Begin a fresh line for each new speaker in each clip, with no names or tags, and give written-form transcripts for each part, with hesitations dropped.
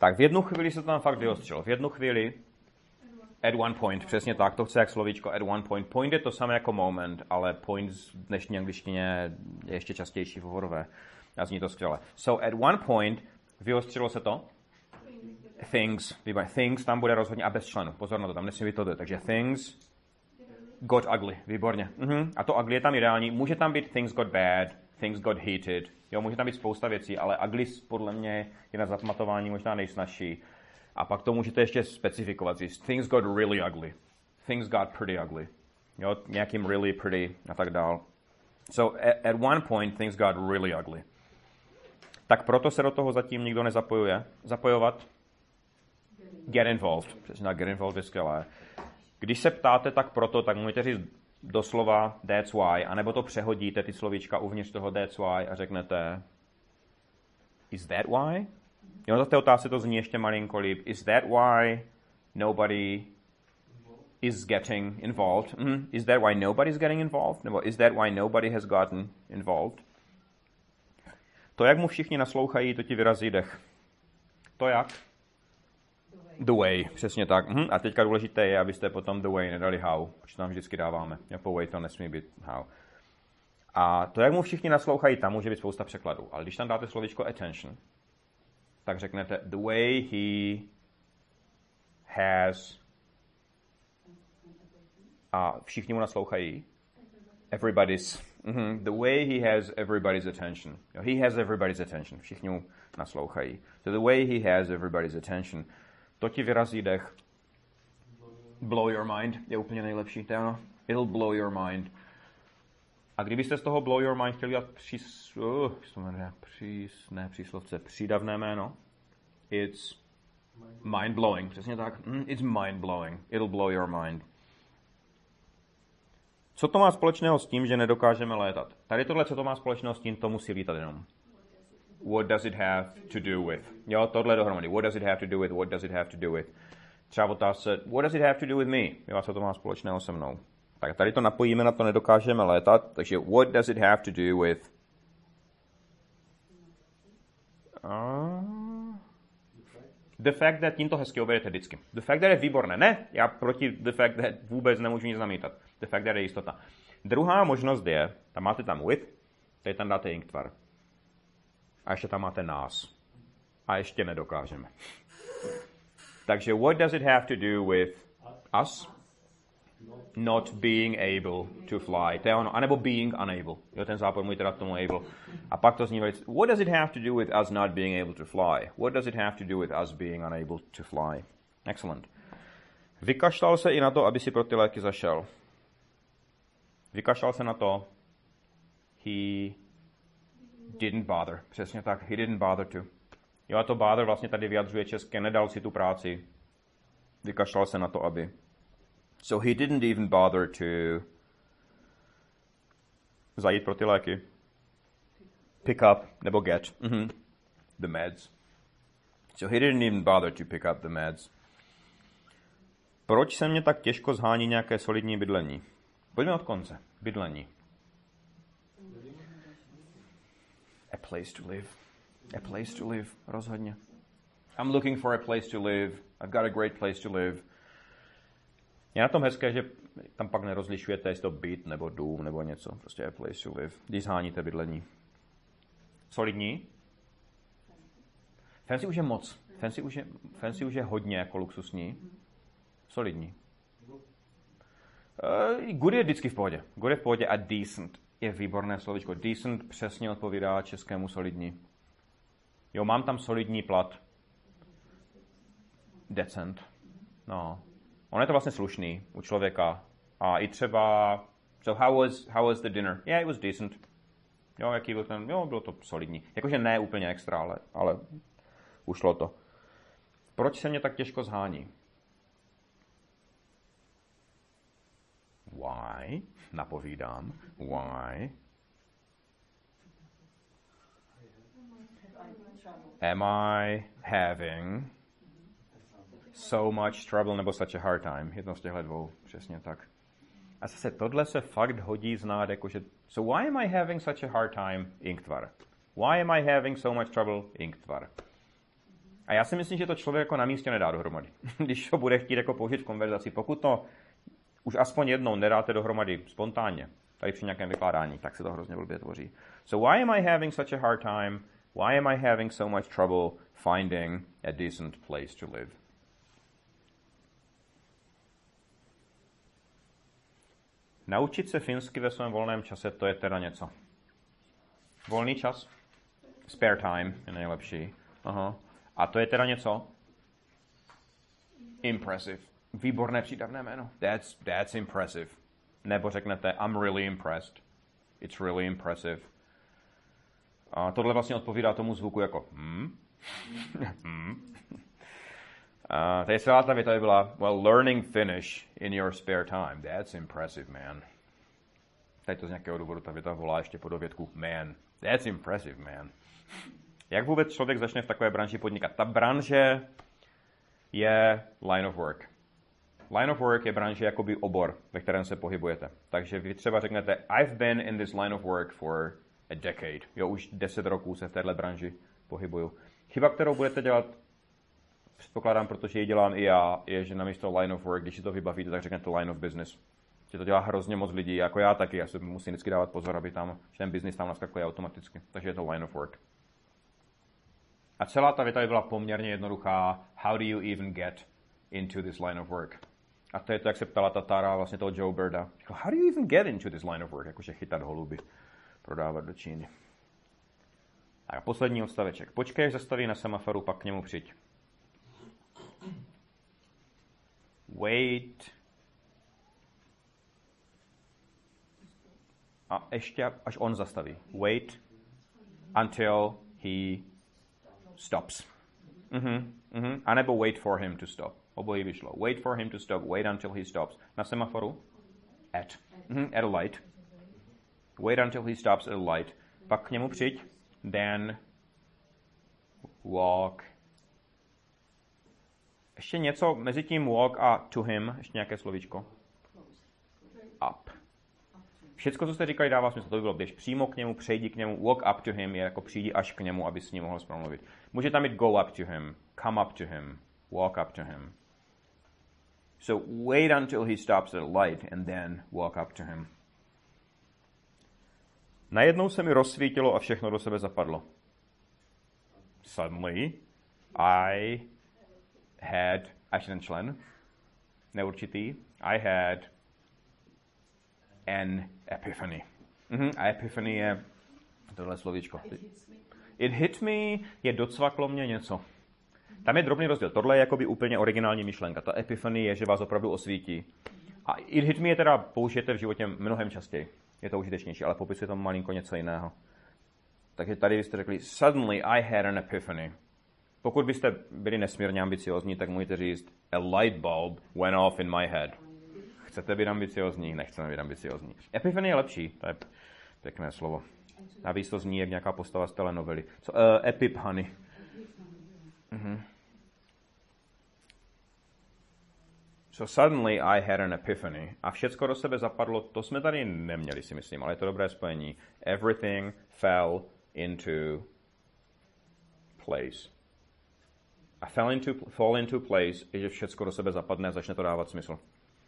Tak v jednu chvíli se to tam fakt vyostřilo. V jednu chvíli at one point, přesně tak, to chce jak slovíčko at one point. Point je to samé jako moment, ale point v dnešní angličtině je ještě častější v hovorové. A zní to skvěle. So at one point vyostřilo se to. Things, výborně. Things tam bude rozhodně a bez členu. Pozor na to, tam nesmí být to. Takže things got ugly, výborně. A to ugly je tam ideální. Může tam být things got bad, things got heated. Jo, může tam být spousta věcí, ale ugly podle mě je na zapamatování možná nejsnažší. A pak to můžete ještě specifikovat. Things got really ugly. Things got pretty ugly. Jo, nějakým really pretty a tak dál. So at one point things got really ugly. Tak proto se do toho zatím nikdo nezapojuje. Zapojovat? Get involved. Přesně get involved je skvělé. Když se ptáte tak proto, tak můžete říct doslova that's why, anebo to přehodíte ty slovíčka uvnitř toho that's why a řeknete is that why? Jo, na té otázce to zní ještě malinko líp. Is that why nobody is getting involved? Is that why nobody's getting involved? Nebo is that why nobody has gotten involved? To, jak mu všichni naslouchají, to ti vyrazí dech. To jak? The way, přesně tak. A teďka důležité je, abyste potom the way nedali how, protože tam vždycky dáváme. Po way to nesmí být how. A to, jak mu všichni naslouchají, tam může být spousta překladů. Ale když tam dáte slovíčko attention, tak řeknete the way he has a všichni mu naslouchají. Everybody's. The way he has everybody's attention. He has everybody's attention. Všichni mu naslouchají. So the way he has everybody's attention. To ti vyrazí dech. Blow your mind je úplně nejlepší. To je ono. It'll blow your mind. A kdybyste z toho blow your mind chtěli dělat přídavné jméno, it's mind blowing. Přesně tak. It's mind blowing. It'll blow your mind. Co to má společného s tím, že nedokážeme létat? Tady tohle, co to má společného s tím, to musí lítat jenom. What does it have to do with? Jo, tohle dohromady. What does it have to do with? What does it have to do with? Třeba otázce, what does it have to do with me? Jo, co to má společného se mnou? Tak tady to napojíme na to, nedokážeme létat, takže what does it have to do with? The fact that tím to hezky oberete vždycky. The fact that je výborné. Ne, já proti the fact that vůbec nemůžu nic namítat. The fact that je jistota. Druhá možnost je, tam máte tam with, tady tam dáte inktvar. A ještě tam máte nás. A ještě nedokážeme. Takže what does it have to do with us? Not being able to fly. To je ono. A nebo being unable. Jo, ten zápor můj teda k tomu able. A pak to zní velice, what does it have to do with us not being able to fly? What does it have to do with us being unable to fly? Excellent. Vykašlal se i na to, aby si pro ty léky zašel. Vykašlal se na to. He didn't bother. Přesně tak. He didn't bother to. Jo, a to bother vlastně tady vyjadřuje české. Nedal si tu práci. Vykašlal se na to, aby. So he didn't even bother to zajít pro ty léky. Pick up nebo get the meds. So he didn't even bother to pick up the meds. Proč se mě tak těžko zhání nějaké solidní bydlení? Pojďme od konce. Bydlení. A place to live. A place to live. Rozhodně. I'm looking for a place to live. I've got a great place to live. Je na tom hezké, že tam pak nerozlišujete, jestli to byt, nebo dům, nebo něco. Prostě a place to live. Když zháníte bydlení. Solidní? Fancy už je moc. Fancy už je hodně jako luxusní. Solidní. Good je vždycky v pohodě. Good je v pohodě a decent je výborné slovíčko. Decent přesně odpovídá českému solidní. Jo, mám tam solidní plat. Decent. No. On je to vlastně slušný u člověka. A i třeba, so how was the dinner? Yeah, it was decent. Jo, jaký byl ten? Jo, bylo to solidní. Jakože ne úplně extra, ale ušlo to. Proč se mě tak těžko zhání? Why? Napovídám. Why? Am I having so much trouble nebo such a hard time? Jedno z těchto dvou, přesně tak. A zase tohle se fakt hodí znát, jakože so why am I having such a hard time? Inktvar. Why am I having so much trouble? Inktvar. A já si myslím, že to člověk jako na místě nedá dohromady. Když to bude chtít jako použít v konverzaci, pokud to už aspoň jednou nedáte dohromady spontánně, tady při nějakém vykládání, tak se to hrozně blbě tvoří. So why am I having such a hard time? Why am I having so much trouble finding a decent place to live? Naučit se finsky ve svém volném čase, to je teda něco. Volný čas? Spare time je nejlepší. Aha. A to je teda něco? Impressive. Výborné přídavné jméno. That's impressive. Nebo řeknete I'm really impressed. It's really impressive. A tohle vlastně odpovídá tomu zvuku jako tady celá ta věta by byla well, learning Finnish in your spare time. That's impressive, man. Tady to z nějakého důvodu ta věta volá ještě po dovědku man. That's impressive, man. Jak vůbec člověk začne v takové branži podnikat? Ta branže je line of work. Line of work je branže jakoby obor, ve kterém se pohybujete. Takže vy třeba řeknete I've been in this line of work for a decade. Jo, už 10 roků se v téhle branži pohybuju. Chyba, kterou budete dělat, předpokládám, protože ji dělám i já, je, že namísto line of work, když si to vybavíte, tak řeknete line of business. Že to dělá hrozně moc lidí, jako já taky. Já se musím vždycky dávat pozor, aby tam, že ten business tam naskakuje automaticky. Takže je to line of work. A celá ta věta by byla poměrně jednoduchá. How do you even get into this line of work? A to je to, jak se ptala ta Tara, vlastně toho Joe Birda. How do you even get into this line of work? Jakože chytat holuby, prodávat do Číny. A poslední odstaveček. Počkej, až zastaví na semaforu, pak k němu přijď. Wait. A ještě, až on zastaví. Wait until he stops. A nebo wait for him to stop. Obojí vyšlo. Wait for him to stop. Wait until he stops. Na semaforu? At. At a light. Wait until he stops at a light. Pak k němu přijď. Then walk. Ještě něco mezi tím walk a to him. Ještě nějaké slovíčko. Up. Všecko, co jste říkali, dává smysl. To by bylo, běž přímo k němu, přejdi k němu. Walk up to him je jako přijdi až k němu, aby s ním mohl promluvit. Může tam mít go up to him, come up to him, walk up to him. So wait until he stops at a light and then walk up to him. Najednou se mi rozsvítilo a všechno do sebe zapadlo. Suddenly I had, až ten člen, neurčitý, I had an epiphany. A epiphany je tohle slovíčko. It hit me je docvaklo mě něco. Tam je drobný rozdíl. Tohle je jakoby úplně originální myšlenka. Ta epiphany je, že vás opravdu osvítí. A it hit me je teda použijete v životě mnohem častěji. Je to užitečnější, ale popisuje tam malinko něco jiného. Takže tady byste řekli suddenly I had an epiphany. Pokud byste byli nesmírně ambiciozní, tak můžete říct a light bulb went off in my head. Chcete být ambiciozní? Nechceme být ambiciozní. Epiphany je lepší, to je pěkné slovo. Navíc to zní jak nějaká postava z telenovely. Epiphany. So suddenly I had an epiphany. A všecko do sebe zapadlo, to jsme tady neměli, si myslím, ale je to dobré spojení. Everything fell into place. A fall into place je, že všecko do sebe zapadne a začne to dávat smysl.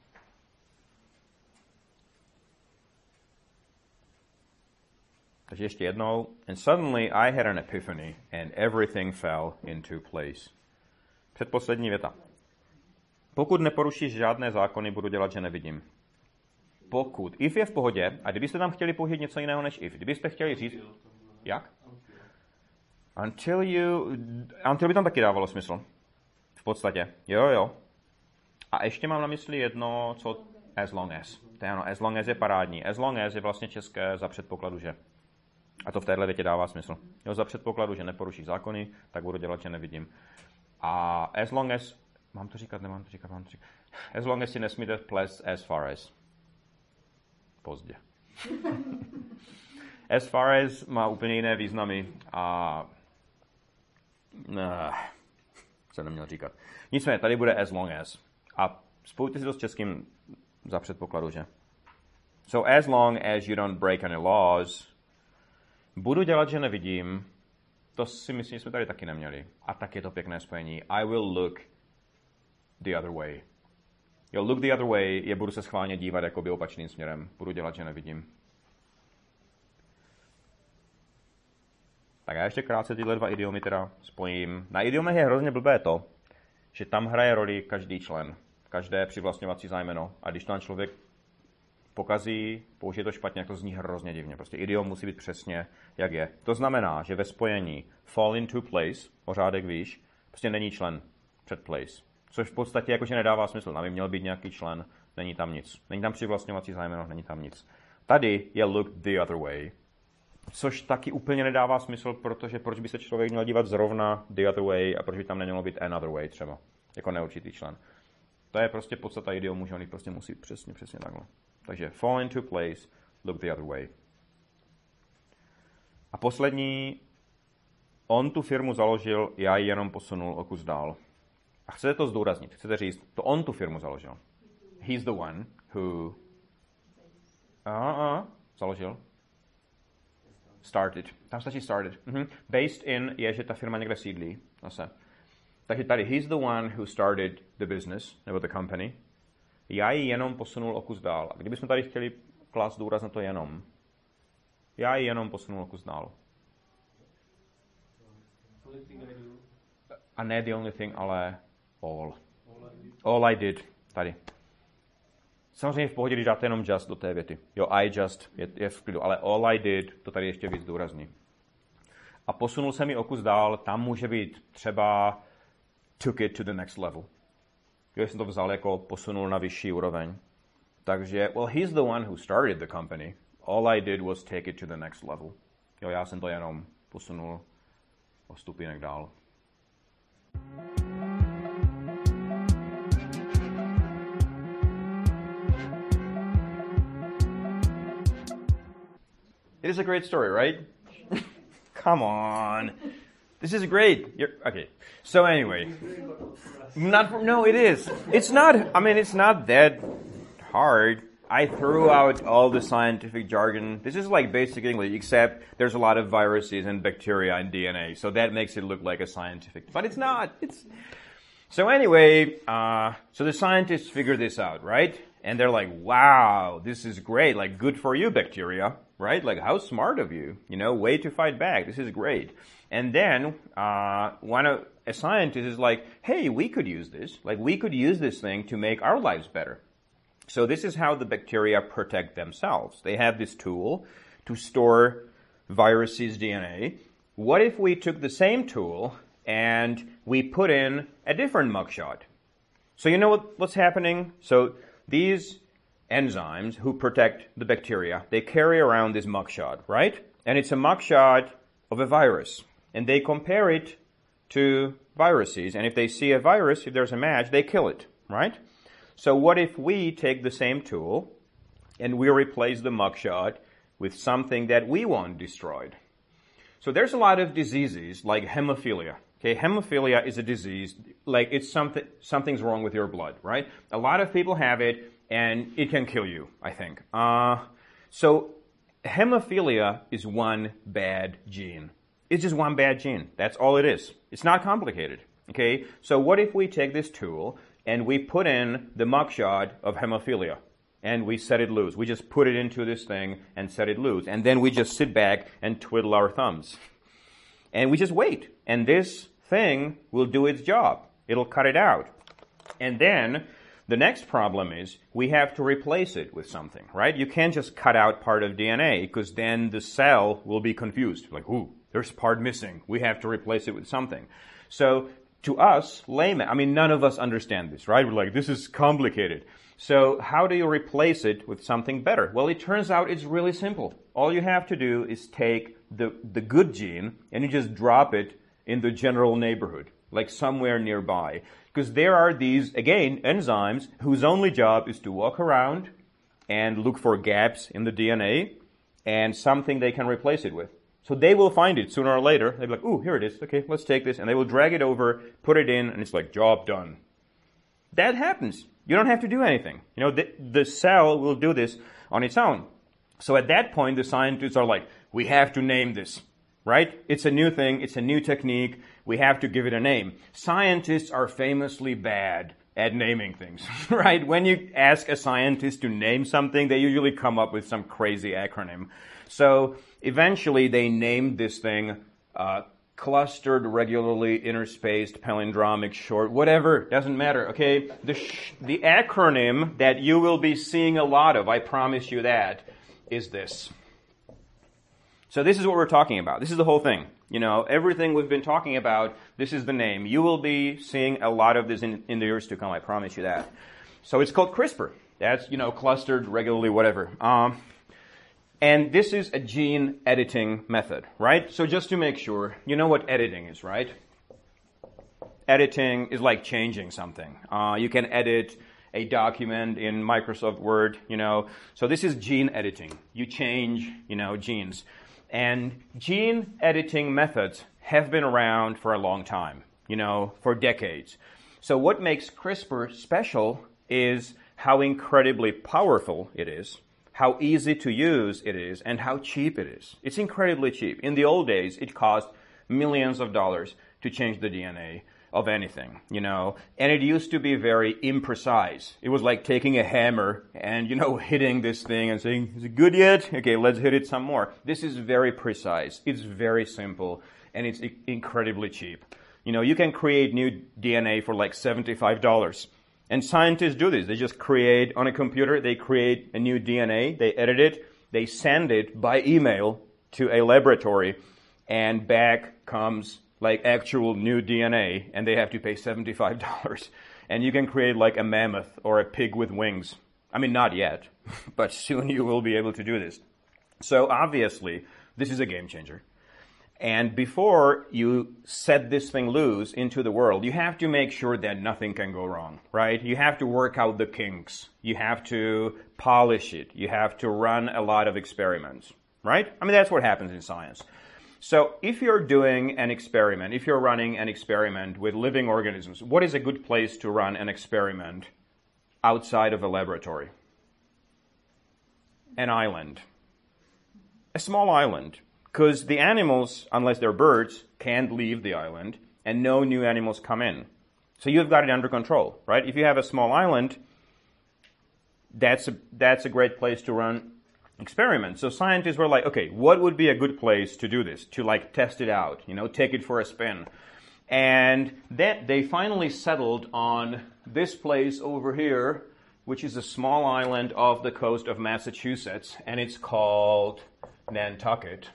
Takže ještě jednou. And suddenly I had an epiphany and everything fell into place. Předposlední věta. Pokud neporušíš žádné zákony, budu dělat, že nevidím. Pokud. If je v pohodě, a kdybyste tam chtěli použít něco jiného než if, kdybyste chtěli říct... Jak? Until by tam taky dávalo smysl. V podstatě. Jo. A ještě mám na mysli jedno, co as long as. To je ano, as long as je parádní. As long as je vlastně české za předpokladu, že. A to v téhle větě dává smysl. Jo, za předpokladu, že neporušíš zákony, tak budu dělat, že nevidím. A as long as... Mám to říkat, nemám to říkat, mám to říkat. As long as si nesmíte plést as far as. Pozdě. As far as má úplně jiné významy a... Co neměl říkat. Nicméně, tady bude as long as. A spojte si to s českým za předpokladu, že. So as long as you don't break any laws, budu dělat, že nevidím, To si myslím, že jsme tady taky neměli. A tak je to pěkné spojení. I will look the other way. Jo, look the other way je budu se schválně dívat jakoby opačným směrem. Budu dělat, že nevidím. Tak já ještě krátce tyhle dva idiomy teda spojím. Na idiomech je hrozně blbé to, že tam hraje roli každý člen, každé přivlastňovací zájmeno. A když tam člověk pokazí, použije to špatně, jak to zní hrozně divně. Prostě idiom musí být přesně, jak je. To znamená, že ve spojení fall into place, o řádek výš, prostě není člen před place. Což v podstatě jakože nedává smysl. Tam by měl být nějaký člen, není tam nic. Není tam přivlastňovací zájmeno, není tam nic. Tady je look the other way, což taky úplně nedává smysl, protože proč by se člověk měl dívat zrovna the other way a proč by tam nemělo být another way třeba, jako neurčitý člen. To je prostě podstata idiomu, že on prostě musí přesně takhle. Takže fall into place, look the other way. A poslední, on tu firmu založil, já ji jenom posunul o kus dál. A chcete to zdůraznit, chcete říct, to on tu firmu založil. He's the one who založil. Started. Tam stačí started. Based in je, že ta firma někde sídlí. Zase. Takže tady he's the one who started the business, nebo the company. Já ji jenom posunul o kus dál. A kdybychom tady chtěli klást důraz na to jenom. Já ji jenom posunul o kus dál. A ne the only thing, ale all. All I did. Tady. Samozřejmě v pohodě, když dáte jenom just do té věty. Jo, I just je v klidu, ale all I did, to tady ještě víc důrazní. A posunul jsem ji o kus dál, tam může být třeba took it to the next level. Jo, jsem to vzal jako posunul na vyšší úroveň. Takže, well, he's the one who started the company. All I did was take it to the next level. Jo, já jsem to jenom posunul o stupínek dál. It is a great story, right? Come on. This is great. Okay. So anyway. No, it is. It's not that hard. I threw out all the scientific jargon. This is like basic English, except there's a lot of viruses and bacteria and DNA. So that makes it look like a scientific. But it's not. So anyway, so the scientists figured this out, right? And they're like, wow, this is great. Like, good for you, bacteria, right? Like, how smart of you. You know, way to fight back. This is great. And then a scientist is like, hey, we could use this. Like, we could use this thing to make our lives better. So this is how the bacteria protect themselves. They have this tool to store viruses' DNA. What if we took the same tool and we put in a different mugshot? So you know what's happening? So these enzymes who protect the bacteria, they carry around this mugshot, right? And it's a mugshot of a virus. And they compare it to viruses. And if they see a virus, if there's a match, they kill it, right? So what if we take the same tool and we replace the mugshot with something that we want destroyed? So there's a lot of diseases like hemophilia. Okay, hemophilia is a disease, like it's something's wrong with your blood, right? A lot of people have it, and it can kill you, I think. So hemophilia is one bad gene. It's just one bad gene. That's all it is. It's not complicated, okay? So what if we take this tool and we put in the mugshot of hemophilia and we set it loose? We just put it into this thing and set it loose. And then we just sit back and twiddle our thumbs. And we just wait. And this thing will do its job. It'll cut it out. And then the next problem is we have to replace it with something, right? You can't just cut out part of DNA because then the cell will be confused. Like, ooh, there's part missing. We have to replace it with something. So to us, laymen, I mean, none of us understand this, right? We're like, this is complicated. So how do you replace it with something better? Well, it turns out it's really simple. All you have to do is take the good gene and you just drop it in the general neighborhood, like somewhere nearby. Because there are these, again, enzymes whose only job is to walk around and look for gaps in the DNA and something they can replace it with. So they will find it sooner or later. They'll be like, ooh, here it is. Okay, let's take this. And they will drag it over, put it in, and it's like, job done. That happens. You don't have to do anything. You know, the cell will do this on its own. So at that point, the scientists are like, we have to name this, right? It's a new thing. It's a new technique. We have to give it a name. Scientists are famously bad at naming things, right? When you ask a scientist to name something, they usually come up with some crazy acronym. So eventually they named this thing clustered, regularly interspaced, palindromic, short, whatever, doesn't matter, okay? The acronym that you will be seeing a lot of, I promise you that, is this. So this is what we're talking about. This is the whole thing. You know, everything we've been talking about, this is the name. You will be seeing a lot of this in the years to come, I promise you that. So it's called CRISPR. That's, clustered, regularly, whatever. And this is a gene editing method, right? So just to make sure, you know what editing is, right? Editing is like changing something. You can edit a document in Microsoft Word, So this is gene editing. You change, genes. And gene editing methods have been around for a long time, for decades. So what makes CRISPR special is how incredibly powerful it is, how easy to use it is, and how cheap it is. It's incredibly cheap. In the old days, it cost millions of dollars to change the DNA of anything, and it used to be very imprecise. It was like taking a hammer and, hitting this thing and saying, is it good yet? Okay, let's hit it some more. This is very precise. It's very simple, and it's incredibly cheap. You can create new DNA for like $75. And scientists do this. They just create, on a computer, they create a new DNA, they edit it, they send it by email to a laboratory, and back comes like actual new DNA, and they have to pay $75. And you can create like a mammoth or a pig with wings. I mean, not yet, but soon you will be able to do this. So obviously, this is a game changer. And before you set this thing loose into the world, you have to make sure that nothing can go wrong, right? You have to work out the kinks. You have to polish it. You have to run a lot of experiments, right? I mean, that's what happens in science. So if you're doing an experiment, if you're running an experiment with living organisms, what is a good place to run an experiment outside of a laboratory? An island. A small island. Because the animals, unless they're birds, can't leave the island, and no new animals come in. So you've got it under control, right? If you have a small island, that's a great place to run experiments. So scientists were like, okay, what would be a good place to do this, to like test it out, take it for a spin? And then they finally settled on this place over here, which is a small island off the coast of Massachusetts, and it's called Nantucket.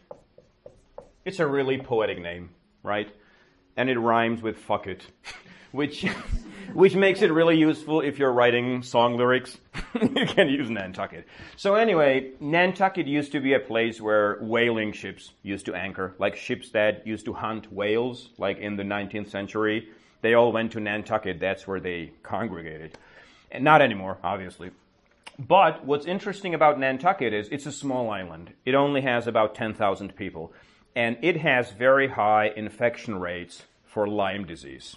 It's a really poetic name, right? And it rhymes with fuck it, which makes it really useful if you're writing song lyrics. You can use Nantucket. So anyway, Nantucket used to be a place where whaling ships used to anchor, like ships that used to hunt whales, like in the 19th century. They all went to Nantucket. That's where they congregated. And not anymore, obviously. But what's interesting about Nantucket is it's a small island. It only has about 10,000 people. And it has very high infection rates for Lyme disease.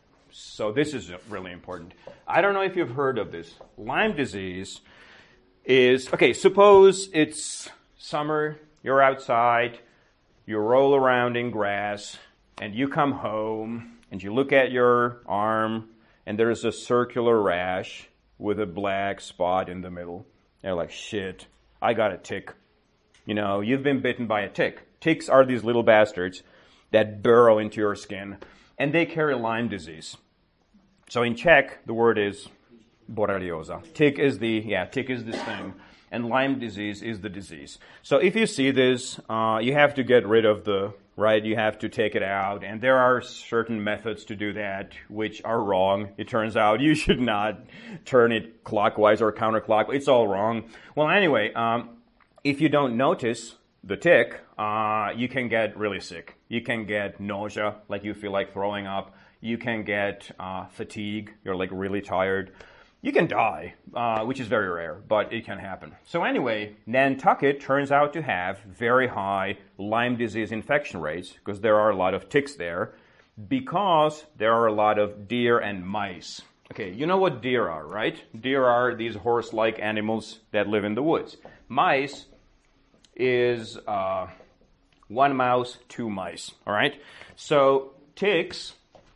So this is really important. I don't know if you've heard of this. Lyme disease is, okay, suppose it's summer, you're outside, you roll around in grass, and you come home, and you look at your arm, and there's a circular rash with a black spot in the middle. You're like, shit, I got a tick. You've been bitten by a tick. Ticks are these little bastards that burrow into your skin, and they carry Lyme disease. So in Czech, the word is borrelioza. Tick is this thing, and Lyme disease is the disease. So if you see this, you have to get rid of you have to take it out, and there are certain methods to do that which are wrong. It turns out you should not turn it clockwise or counterclockwise. It's all wrong. Well, anyway, if you don't notice the tick, you can get really sick. You can get nausea, like you feel like throwing up. You can get fatigue. You're like really tired. You can die, which is very rare, but it can happen. So anyway, Nantucket turns out to have very high Lyme disease infection rates because there are a lot of ticks there, because there are a lot of deer and mice. Okay, you know what deer are, right? Deer are these horse-like animals that live in the woods. Mice is One mouse, two mice. All right? So ticks,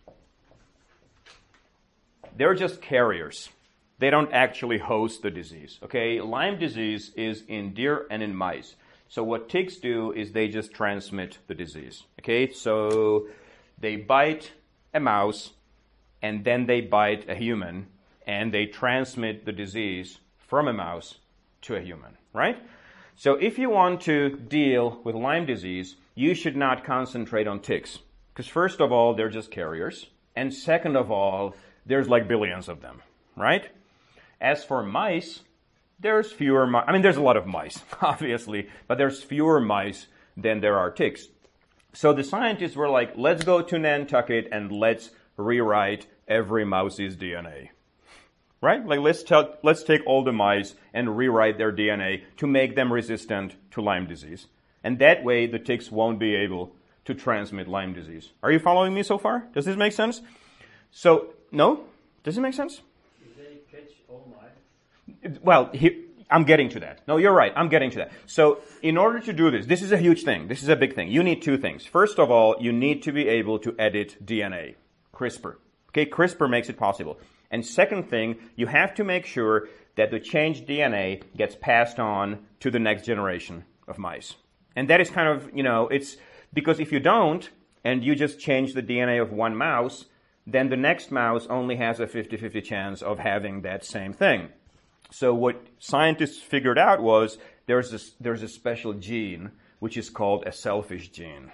they're just carriers. They don't actually host the disease. Okay? Lyme disease is in deer and in mice. So what ticks do is they just transmit the disease. Okay? So they bite a mouse, and then they bite a human, and they transmit the disease from a mouse to a human, right? So if you want to deal with Lyme disease, you should not concentrate on ticks. Because first of all, they're just carriers. And second of all, there's like billions of them, right? As for mice, there's fewer mice. I mean, there's a lot of mice, obviously, but there's fewer mice than there are ticks. So the scientists were like, let's go to Nantucket and let's rewrite every mouse's DNA. Right? Like, let's take all the mice and rewrite their DNA to make them resistant to Lyme disease. And that way, the ticks won't be able to transmit Lyme disease. Are you following me so far? Does this make sense? So, no? Does it make sense?
Do they catch all mice?
Well, I'm getting to that. No, you're right. I'm getting to that. So, in order to do this is a huge thing. This is a big thing. You need two things. First of all, you need to be able to edit DNA. CRISPR. Okay, CRISPR makes it possible. And second thing, you have to make sure that the changed DNA gets passed on to the next generation of mice. And that is kind of, it's because if you don't, and you just change the DNA of one mouse, then the next mouse only has a 50-50 chance of having that same thing. So what scientists figured out was there's a special gene which is called a selfish gene.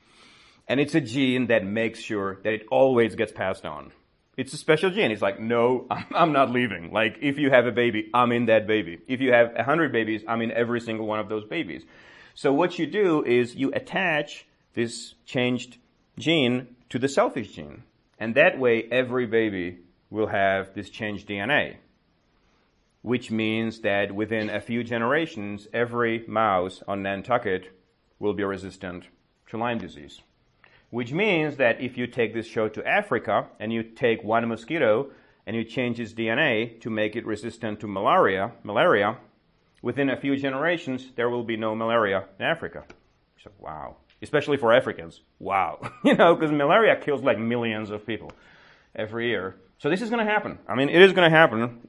And it's a gene that makes sure that it always gets passed on. It's a special gene. It's like, no, I'm not leaving. Like, if you have a baby, I'm in that baby. If you have 100 babies, I'm in every single one of those babies. So what you do is you attach this changed gene to the selfish gene. And that way, every baby will have this changed DNA. Which means that within a few generations, every mouse on Nantucket will be resistant to Lyme disease. Which means that if you take this show to Africa and you take one mosquito and you change its DNA to make it resistant to malaria, within a few generations, there will be no malaria in Africa. So, wow. Especially for Africans. Wow. Because malaria kills like millions of people every year. So this is going to happen. I mean, it is going to happen.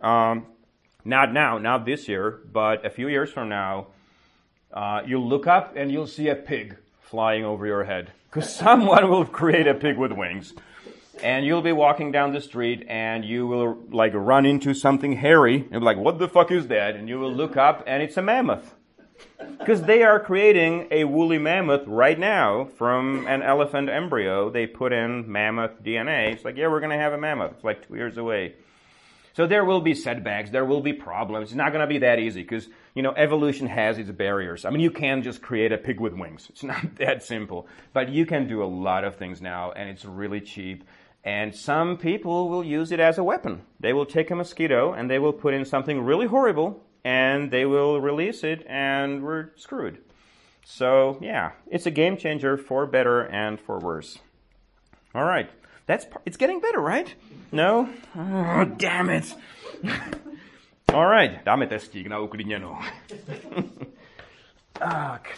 Not now, not this year, but a few years from now, you'll look up and you'll see a pig flying over your head. Because someone will create a pig with wings. And you'll be walking down the street and you will like run into something hairy and be like, what the fuck is that? And you will look up and it's a mammoth. Because they are creating a woolly mammoth right now from an elephant embryo. They put in mammoth DNA. It's like, yeah, we're going to have a mammoth. It's like 2 years away. So there will be setbacks. There will be problems. It's not going to be that easy because, evolution has its barriers. I mean, you can't just create a pig with wings. It's not that simple. But you can do a lot of things now, and it's really cheap. And some people will use it as a weapon. They will take a mosquito, and they will put in something really horrible, and they will release it, and we're screwed. So, yeah, it's a game changer for better and for worse. All right. It's getting better, right? No? Oh, damn it. All right. Dáme testík na uklidněnou. Tak.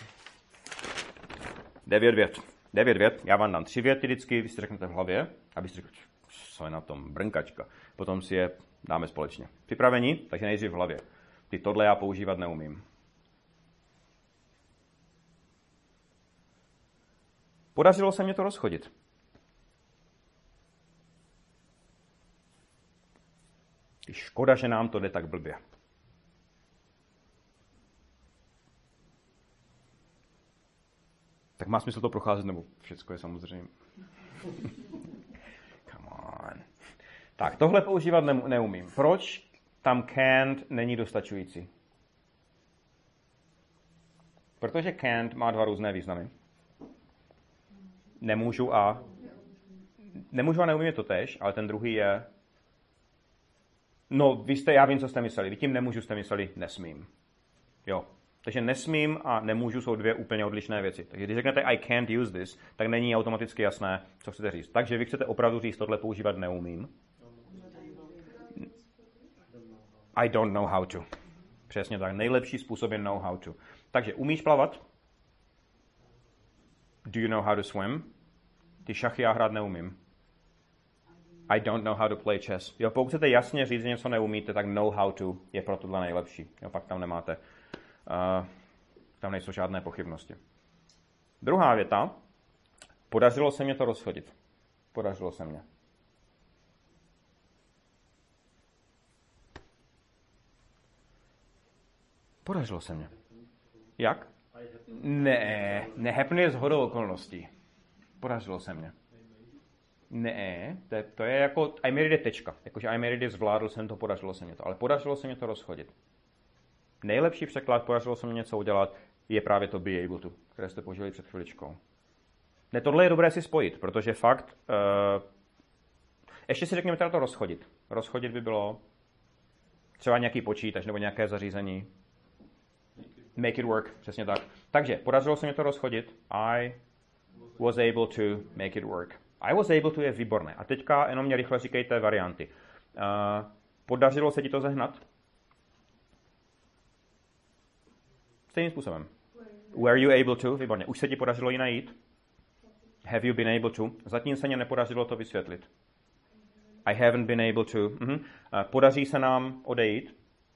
9 vět. 9 vět. Já vám dám 3 věty vždycky, vy si řeknete v hlavě, abyste řekli, co je na tom, brnkačka. Potom si je dáme společně. Připravení? Takže nejdřív v hlavě. Tohle já používat neumím. Podařilo se mě to rozchodit. Škoda, že nám to jde tak blbě. Tak má smysl to procházet, nebo všecko je samozřejmě. Come on. Tak, tohle používat neumím. Proč tam can't není dostačující? Protože can't má 2 různé významy. Nemůžu a neumím je to též, ale ten druhý je... No, já vím, co jste mysleli. Vy tím nemůžu jste mysleli nesmím. Jo. Takže nesmím a nemůžu jsou 2 úplně odlišné věci. Takže když řeknete I can't use this, tak není automaticky jasné, co chcete říct. Takže vy chcete opravdu říct, tohle používat neumím. I don't know how to. Přesně tak. Nejlepší způsob je know how to. Takže umíš plavat? Do you know how to swim? Ty šachy já hrát neumím. I don't know how to play chess. Jo, pokud chcete jasně říct, že něco neumíte, tak know how to je pro tohle nejlepší. Jo, pak tam nemáte, tam nejsou žádné pochybnosti. Druhá věta. Podařilo se mě to rozchodit. Podařilo se mě. Podařilo se mě. Jak? Ne, happen je shodou okolností. Podařilo se mě. Ne, to je jako I made it tečka. Jakože I made it zvládl jsem to, podařilo se mě to. Ale podařilo se mě to rozchodit. Nejlepší překlad, podařilo se mě něco udělat, je právě to be able to, které jste použili před chviličkou. Ne, tohle je dobré si spojit, protože fakt... ještě si řekněme teda to rozchodit. Rozchodit by bylo třeba nějaký počítač nebo nějaké zařízení. Make it work, přesně tak. Takže, podařilo se mi to rozchodit. I was able to make it work. I was able to je výborné. A teďka jenom mě rychle říkejte varianty. Podařilo se ti to zehnat? Stejným způsobem. Were you able to? Výborně. Už se ti podařilo ji najít? Have you been able to? Zatím se mě nepodařilo to vysvětlit. I haven't been able to. Podaří se nám odejít?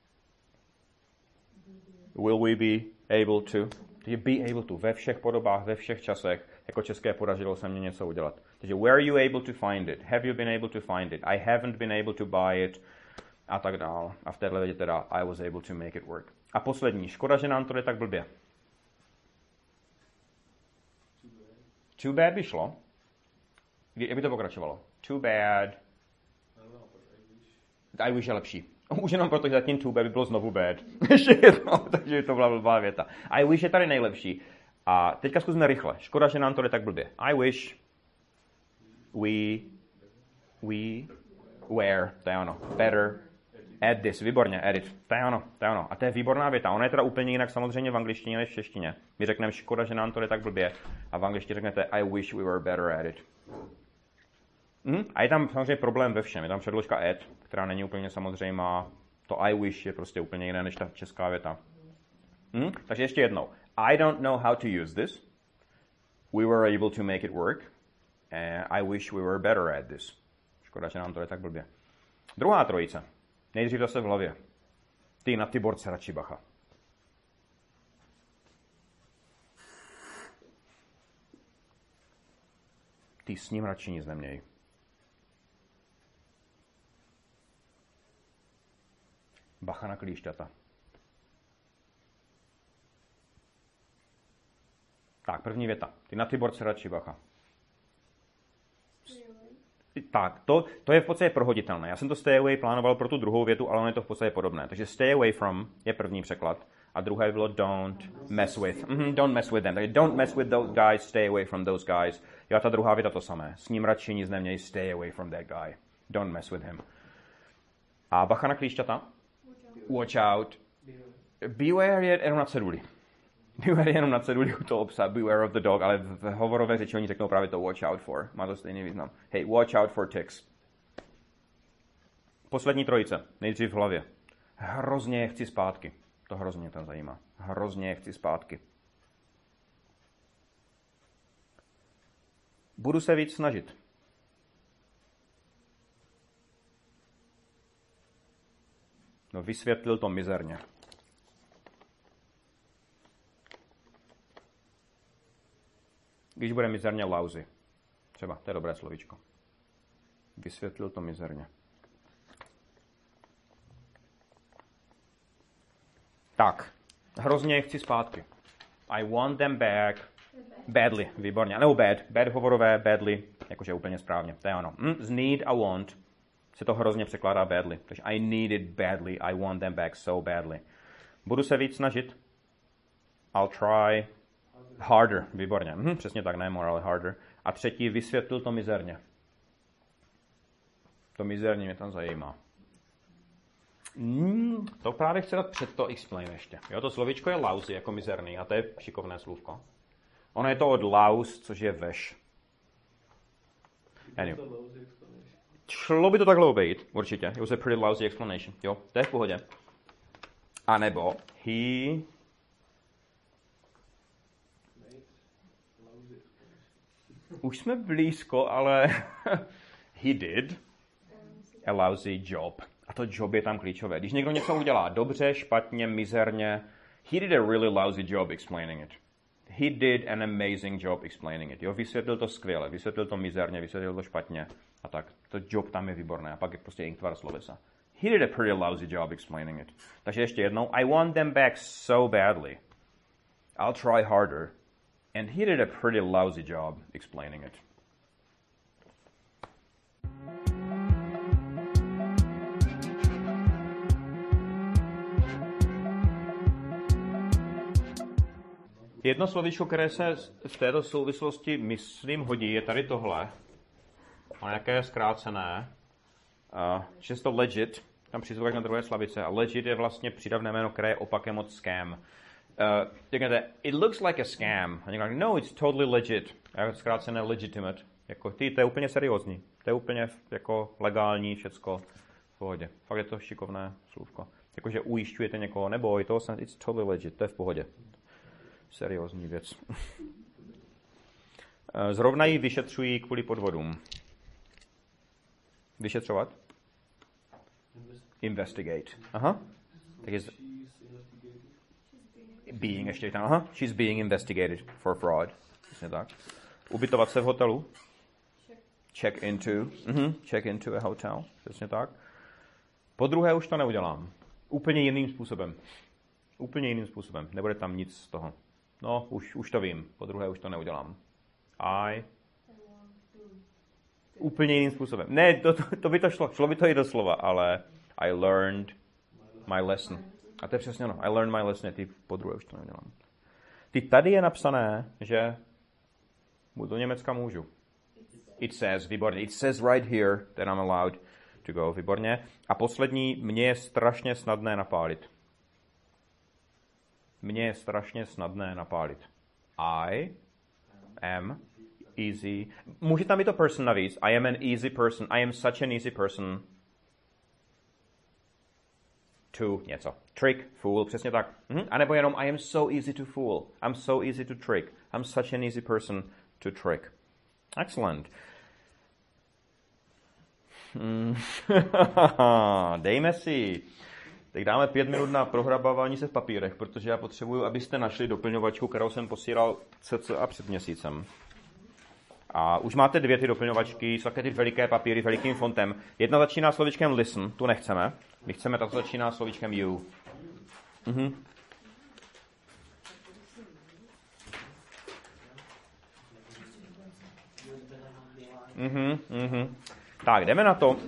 Will we be able to? Takže be able to. Ve všech podobách, ve všech časech. Jako české podařilo se mě něco udělat. Takže were you able to find it? Have you been able to find it? I haven't been able to buy it. A tak dál. A v téhle větě teda I was able to make it work. A poslední. Škoda, že nám to jde tak blbě. Too bad by šlo. Jak by to pokračovalo? Too bad. I wish je lepší. Už jenom proto, že zatím too bad by bylo znovu bad. Ještě jedno, takže to byla blbá věta. I wish je tady nejlepší. A teďka zkusíme rychle. Škoda, že nám to jde tak blbě. I wish we were, to je ono, better at this. Výborně, edit. To je ono. A to je výborná věta. Ona je teda úplně jinak samozřejmě v angličtině než v češtině. My řekneme škoda, že nám to jde tak blbě. A v angličtině řeknete I wish we were better at it. A je tam samozřejmě problém ve všem. Je tam předložka at, která není úplně samozřejmá. To I wish je prostě úplně jiné než ta česká věta. Takže ještě jednou. I don't know how to use this. We were able to make it work. I wish we were better at this. Škoda, že nám to je tak blbě. Druhá trojice. Nejdřív zase v hlavě. Ty na ty borce radši bacha. Ty s ním radši nic neměj. Bacha na klíšťata. Tak, první věta. Ty na ty borce radši bacha. Tak, to je v podstatě prohoditelné. Já jsem to stay away plánoval pro tu druhou větu, ale ono je to v podstatě podobné. Takže stay away from je první překlad. A druhé bylo don't mess with. Don't mess with them. Takže don't mess with those guys, stay away from those guys. Jo, ta druhá věta to samé. S ním radši nic neměj, stay away from that guy. Don't mess with him. A bacha na klíšťata. Watch out. Beware je jenom na ceduli. Beware je jenom na ceduli u toho psa. Beware of the dog, ale v hovorové řeči oni řeknou právě to watch out for. Má to stejný význam. Hey, watch out for ticks. Poslední trojice. Nejdřív v hlavě. Hrozně je chci zpátky. To hrozně mě tam zajímá. Hrozně je chci zpátky. Budu se víc snažit. No, vysvětlil to mizerně. Když bude mizerně lousy. Třeba, to je dobré slovíčko. Vysvětlil to mizerně. Tak, hrozně chci zpátky. I want them back badly, výborně. Nebo bad hovorové, badly, jakože úplně správně. To je ono. Z need a want se to hrozně překládá badly. Takže I need it badly, I want them back so badly. Budu se víc snažit. I'll try harder, výborně. Přesně tak, ne more, ale harder. A třetí, vysvětlil to mizerně. To mizerně mě tam zajímá. To právě chci dát před to explain ještě. Jo, to slovíčko je lousy, jako mizerný, a to je šikovné slůvko. Ono je to od laus, což je veš. Anyway. Šlo by to takhle obejít, určitě. It was a pretty lousy explanation. Jo, to je v pohodě. A nebo Už jsme blízko, ale he did a lousy job. A to job je tam klíčové. Když někdo něco udělá dobře, špatně, mizerně, he did a really lousy job explaining it. He did an amazing job explaining it. Jo, vysvětlil to skvěle, vysvětlil to mizerně, vysvětlil to špatně. A tak, to job tam je výborné. A pak je prostě inktvar slovesa. He did a pretty lousy job explaining it. Takže ještě jednou. I want them back so badly. I'll try harder. And he did a pretty lousy job explaining it. Jedno slovíčko, které se v této souvislosti, myslím, hodí, je tady tohle. A nějaké zkrácené. Že to legit, tam přizvuk na druhé slabice. A legit je vlastně přídavné jméno, které je opakem od scam. Řeknete, it looks like a scam. A někdo říká, no, it's totally legit. A zkrácené legitimate. Jako, to je úplně seriózní. To je úplně jako legální, všecko v pohodě. Fakt je to šikovné slůvko. Jakože ujišťujete někoho, neboj, to it's totally legit, to je v pohodě. Seriózní věc. Zrovna ji vyšetřují kvůli podvodům. Vyšetřovat? Investigate. Aha. Tak je being ještě tam. Aha. She's being investigated for fraud. Přesně tak. Ubytovat se v hotelu. Check into. Check into a hotel. Přesně tak. Po druhé už to neudělám. Úplně jiným způsobem. Úplně jiným způsobem. Nebude tam nic z toho. No, už to vím. Po druhé už to neudělám. Úplně jiným způsobem. Ne, to by to šlo. Šlo by to i doslova, ale I learned my lesson. A to je přesně ono. I learned my lesson. Ty po druhé už to neudělám. Ty tady je napsané, že do Německa můžu. It says, výborně. It says right here that I'm allowed to go. Výborně. A poslední, mně je strašně snadné napálit. Mně je strašně snadné napálit. I am easy. Může tam být to person navíc. I am an easy person. I am such an easy person to něco. Trick, fool, přesně tak. A nebo jenom I am so easy to fool. I'm so easy to trick. I'm such an easy person to trick. Excellent. Dejme si. Tak dáme 5 minut na prohrabávání se v papírech, protože já potřebuju, abyste našli doplňovačku, kterou jsem posílal cca před měsícem. A už máte 2 ty doplňovačky, jsou také ty veliké papíry s velikým fontem. Jedna začíná slovíčkem listen, tu nechceme. My chceme, ta začíná slovíčkem you. Tak, jdeme na to.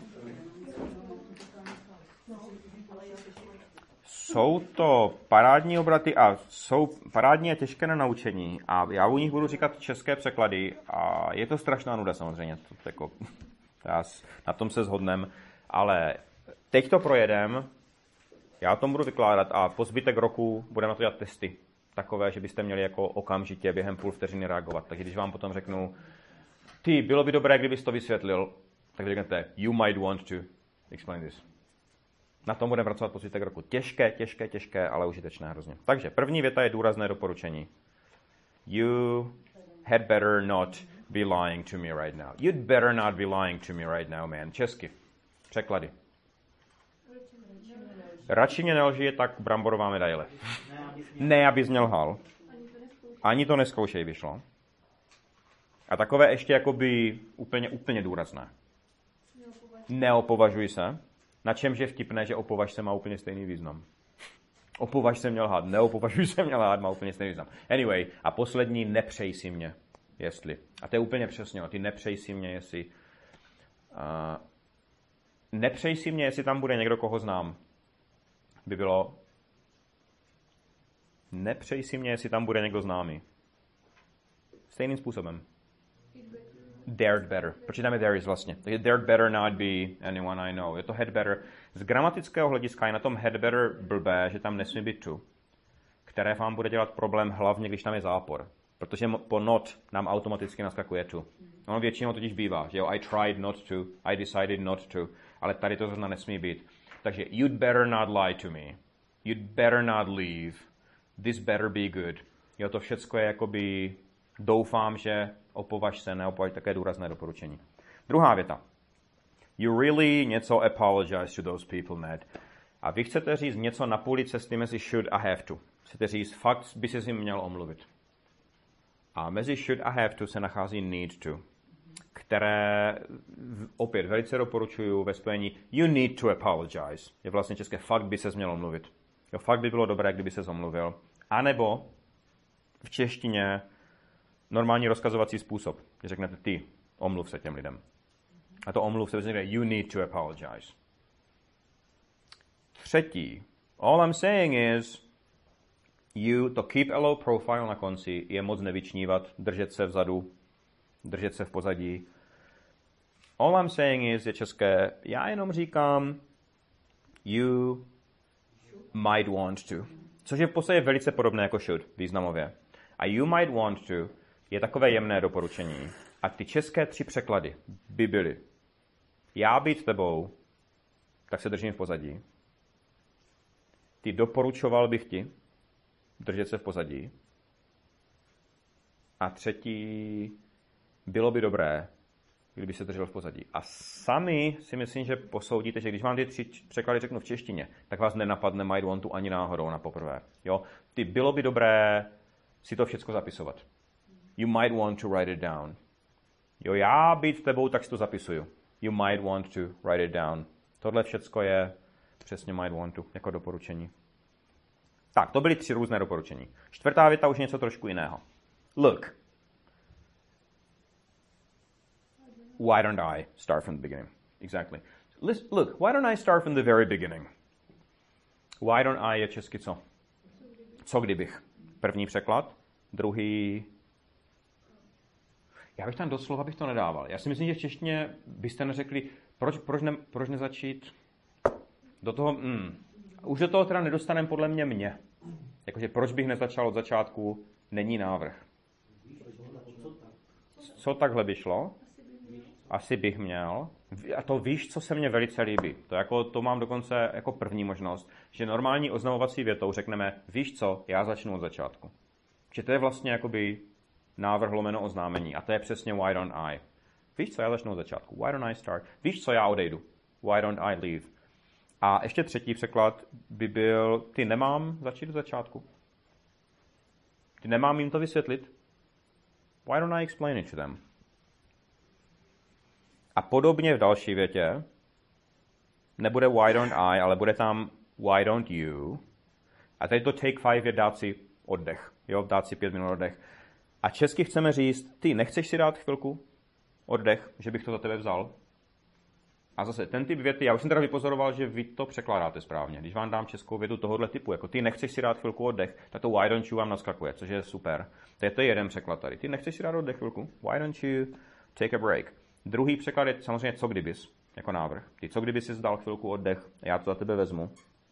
Jsou to parádní obraty a jsou parádní a těžké na naučení a já u nich budu říkat české překlady a je to strašná nuda samozřejmě, to jako, na tom se shodneme, ale teď to projedem, já to budu vykládat a po zbytek roku budeme na to dělat testy, takové, že byste měli jako okamžitě během půl vteřiny reagovat, takže když vám potom řeknu, bylo by dobré, kdybys to vysvětlil, tak vy řeknete, you might want to explain this. Na tom budeme pracovat po zbytek roku. Těžké, ale užitečné hrozně. Takže první věta je důrazné doporučení. You had better not be lying to me right now. You'd better not be lying to me right now, man. Česky. Překlady. Radši mě nelži je tak bramborová medaile. Ne, abys mě lhal. Ani to neskoušej, vyšlo. A takové ještě jakoby úplně důrazné. Neopovažuj se. Na čemž je vtipné, že opovaž se má úplně stejný význam. Opovaž se mě lhát, neopovažuj se mě lhát, má úplně stejný význam. Anyway, a poslední, nepřej si mě, jestli. A to je úplně přesně, ty nepřej si mě, jestli. Nepřej si mě, jestli tam bude někdo, koho znám. By bylo. Nepřej si mě, jestli tam bude někdo známý. Stejným způsobem. Dared better. Proč tam je there is vlastně? Takže dared better not be anyone I know. Je to had better. Z gramatického hlediska je na tom had better blbé, že tam nesmí být to, které vám bude dělat problém hlavně, když tam je zápor. Protože po not nám automaticky naskakuje to. Ono většinou totiž bývá, že jo, I tried not to, I decided not to, ale tady to zrovna nesmí být. Takže you'd better not lie to me. You'd better not leave. This better be good. Jo, to všecko je jakoby doufám, že opovaž se, neopovaž, také důrazné doporučení. Druhá věta. You really něco apologize to those people, Matt. A vy chcete říct něco na půli cesty mezi should a have to. Chcete říct, fakt by se jim měl omluvit. A mezi should a have to se nachází need to, které opět velice doporučuju ve spojení you need to apologize. Je vlastně české fakt by se měl omluvit. Jo, fakt by bylo dobré, kdyby se omluvil. A nebo v češtině normální rozkazovací způsob. Když řeknete ty, omluv se těm lidem. A to omluv se řekne you need to apologize. Třetí. All I'm saying is you, to keep a low profile na konci je moc nevyčnívat, držet se vzadu, držet se v pozadí. All I'm saying is je české, já jenom říkám you might want to. Což je v podstatě velice podobné jako should významově. A you might want to je takové jemné doporučení. A ty české 3 překlady by byly já být tebou, tak se držím v pozadí. Ty doporučoval bych ti držet se v pozadí. A třetí, bylo by dobré, kdyby se držel v pozadí. A sami si myslím, že posoudíte, že když vám ty 3 překlady řeknu v češtině, tak vás nenapadne might want to ani náhodou na poprvé. Jo? Ty bylo by dobré si to všechno zapisovat. You might want to write it down. Jo, já být tebou, tak si to zapisuju. You might want to write it down. Tohle všecko je přesně might want to, jako doporučení. Tak, to byly 3 různé doporučení. Čtvrtá věta už něco trošku jiného. Look. Why don't I start from the beginning? Exactly. Look, why don't I start from the very beginning? Why don't I je česky co? Co kdybych? První překlad, druhý... Já bych tam doslova bych to nedával. Já si myslím, že v češtině byste neřekli, proč nezačít do toho... Už do toho teda nedostaneme podle mě. Jakože proč bych nezačal od začátku, není návrh. Co takhle by šlo? Asi bych měl. A to víš, co se mně velice líbí. To mám dokonce jako první možnost, že normální oznamovací větou řekneme, víš co, já začnu od začátku. Že to je vlastně jakoby návrh lomeno oznámení. A to je přesně why don't I. Víš co, já začnu od začátku. Why don't I start? Víš co, já odejdu. Why don't I leave? A ještě třetí překlad by byl, ty nemám začít od začátku. Ty nemám jim to vysvětlit. Why don't I explain it to them? A podobně v další větě nebude why don't I, ale bude tam why don't you. A tady to take 5 je dát si oddech. Jo, dát si 5 minut oddech. A česky chceme říct, ty nechceš si dát chvilku oddech, že bych to za tebe vzal? A zase ten typ věty, já už jsem teda vypozoroval, že vy to překládáte správně. Když vám dám českou větu tohohle typu, jako ty nechceš si dát chvilku oddech, tak to why don't you vám naskakuje, což je super. To je jeden překlad tady. Ty nechceš si dát oddech chvilku? Why don't you take a break? Druhý překlad je samozřejmě co kdybys, jako návrh. Ty co kdyby si dal chvilku oddech, já to za tebe vezmu.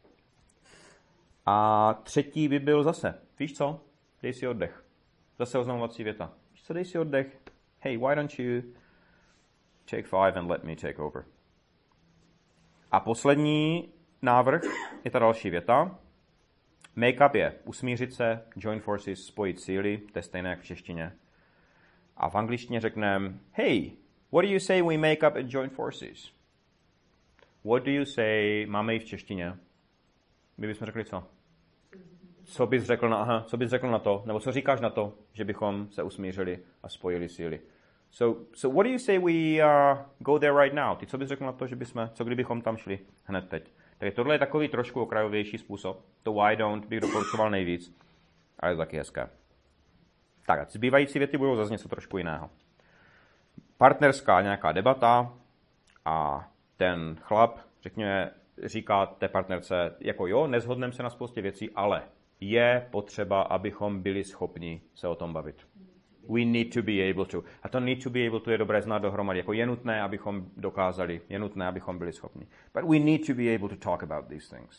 A třetí by byl zase, víš co, dej si oddech. Zase oznamovací věta. Víš co, dej si oddech. Hey, why don't you take 5 and let me take over. A poslední návrh je ta další věta. Make up je usmířit se, join forces, spojit síly, to je stejné jak v češtině. A v angličtině řekneme, hey, what do you say we make up and join forces? What do you say, máme i v češtině. My bychom řekli co? Co bys řekl na to, nebo co říkáš na to, že bychom se usmířili a spojili síly. So what do you say we go there right now? Ty co bys řekl na to, že co kdybychom tam šli hned teď? Takže tohle je takový trošku okrajovější způsob. To why don't bych doporučoval nejvíc, ale je taky hezké. Tak a zbývající věty budou zase něco trošku jiného. Partnerská nějaká debata a ten chlap, říká té partnerce, jako jo, neshodneme se na spoustě věcí, ale je potřeba, abychom byli schopni se o tom bavit. We need to be able to. A to need to be able to je dobré znát dohromady. Jako je nutné, abychom dokázali, je nutné, abychom byli schopni. But we need to be able to talk about these things.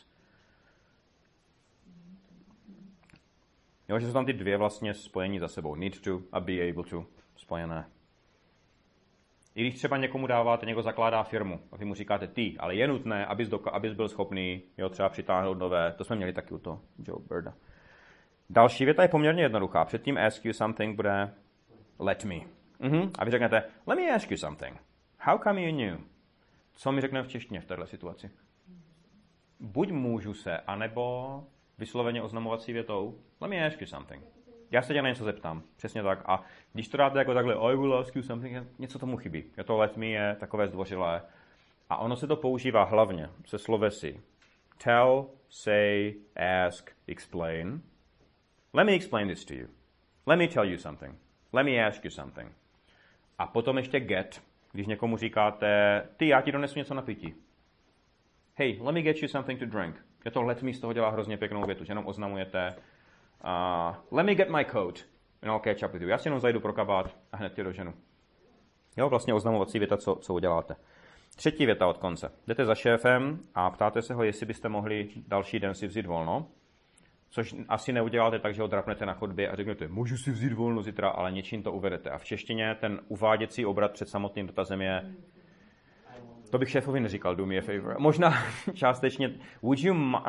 Jo, že jsou tam ty dvě vlastně spojení za sebou. Need to a be able to spojené. I když třeba někomu dáváte, někdo zakládá firmu a vy mu říkáte ty, ale je nutné, abys byl schopný třeba přitáhnout nové. To jsme měli taky u toho Joe Birda. Další věta je poměrně jednoduchá. Předtím ask you something bude let me. A vy řeknete, let me ask you something. How come you knew? Co mi řekne v češtině v této situaci? Buď můžu se, anebo vysloveně oznamovací větou, let me ask you something. Já se tě na něco zeptám. Přesně tak. A když to dáte jako takhle, I will ask you something, něco tomu chybí. To let me je takové zdvořilé. A ono se to používá hlavně se slovesy tell, say, ask, explain. Let me explain this to you. Let me tell you something. Let me ask you something. A potom ještě get, když někomu říkáte, ty, já ti donesu něco na pití. Hey, let me get you something to drink. To let me z toho dělá hrozně pěknou větu, že jenom oznamujete let me get my coat and I'll catch up with you. Já si jenom zajdu pro kabát a hned tě doženu. Jo, vlastně oznamovací věta, co uděláte. Třetí věta od konce. Jdete za šéfem a ptáte se ho, jestli byste mohli další den si vzít volno, což asi neuděláte tak, že ho drapnete na chodbě a řeknete, můžu si vzít volno zítra, ale něčím to uvedete. A v češtině ten uváděcí obrat před samotným dotazem je, to bych šéfovi neříkal, do me a favor. Možná částečně, would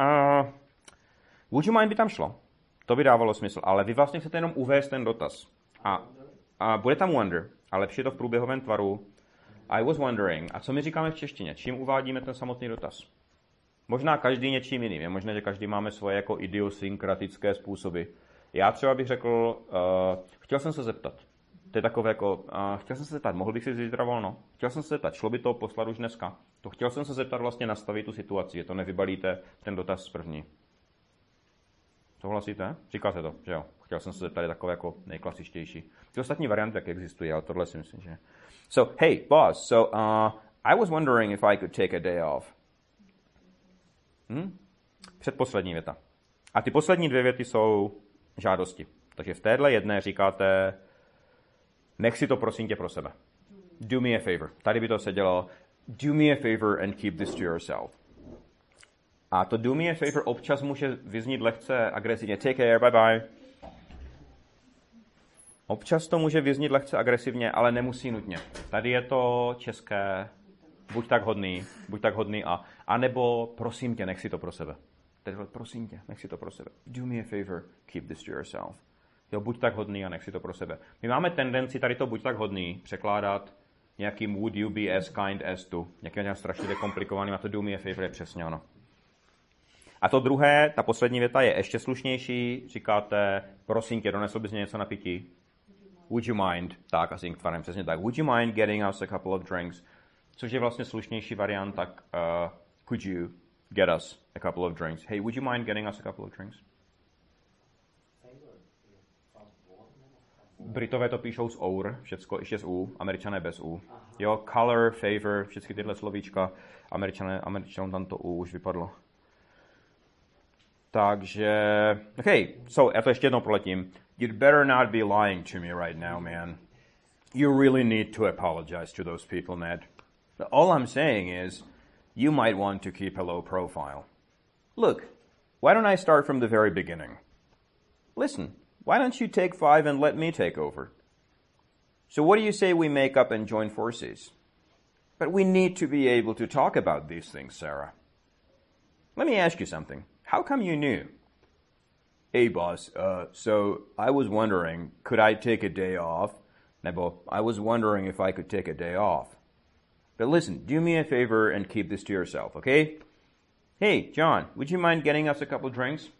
you mind by tam šlo. To by dávalo smysl, ale vy vlastně chcete jenom uvést ten dotaz. A bude tam wonder, a lepší je to v průběhovém tvaru. I was wondering. A co my říkáme v češtině? Čím uvádíme ten samotný dotaz? Možná každý něčím jiným. Je možné, že každý máme svoje jako idiosynkratické způsoby. Já třeba bych řekl, chtěl jsem se zeptat. To je takové jako, chtěl jsem se zeptat, mohl bych si zítra volno? Chtěl jsem se zeptat, šlo by to poslat už dneska? To chtěl jsem se zeptat vlastně nastavit tu situaci, že to nevybalíte ten dotaz z první. Souhlasíte? Říkáte to, že jo? Chtěl jsem se zeptat, je takové jako nejklasičtější. Ty ostatní varianty taky existují, ale tohle si myslím, že... So, hey, boss, I was wondering if I could take a day off. Předposlední věta. A ty poslední dvě věty jsou žádosti. Takže v téhle jedné říkáte, nech si to prosím tě pro sebe. Do me a favor. Tady by to sedělo, do me a favor and keep this to yourself. A to do me a favor občas může vyznít lehce agresivně. Take care, bye bye. Občas to může vyznít lehce agresivně, ale nemusí nutně. Tady je to české, buď tak hodný a nebo prosím tě, nech si to pro sebe. Tady prosím tě, nech si to pro sebe. Do me a favor, keep this to yourself. Jo, buď tak hodný a nech si to pro sebe. My máme tendenci tady to buď tak hodný překládat nějakým would you be as kind as to. Nějakým strašně komplikovaným a to do me a favor je přesně ono. A to druhé, ta poslední věta je ještě slušnější. Říkáte, prosím tě, donesl bys něco na pití? Would you mind? Tak, asi tvarem přesně tak. Would you mind getting us a couple of drinks? Což je vlastně slušnější variant, tak could you get us a couple of drinks? Hey, would you mind getting us a couple of drinks? Britové to píšou s our, všecko ještě s u, Američané bez u. Jo, color, favor, všechny tyhle slovíčka, Američanům tam to u už vypadlo. Takže, okay, já to ještě jednou proletím. You'd better not be lying to me right now, man. You really need to apologize to those people, Ned. All I'm saying is, you might want to keep a low profile. Look, why don't I start from the very beginning? Listen, why don't you take 5 and let me take over? So what do you say we make up and join forces? But we need to be able to talk about these things, Sarah. Let me ask you something. How come you knew? Hey, boss, so I was wondering, could I take a day off? Nebo, I was wondering if I could take a day off. But listen, do me a favor and keep this to yourself, okay? Hey, John, would you mind getting us a couple drinks?